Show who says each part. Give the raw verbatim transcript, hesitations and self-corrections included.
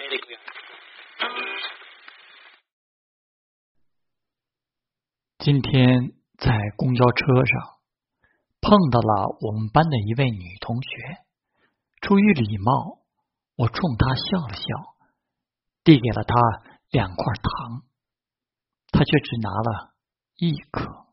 Speaker 1: 今天在公交车上碰到了我们班的一位女同学，出于礼貌，我冲她笑了笑，递给了她两块糖，她却只拿了一颗。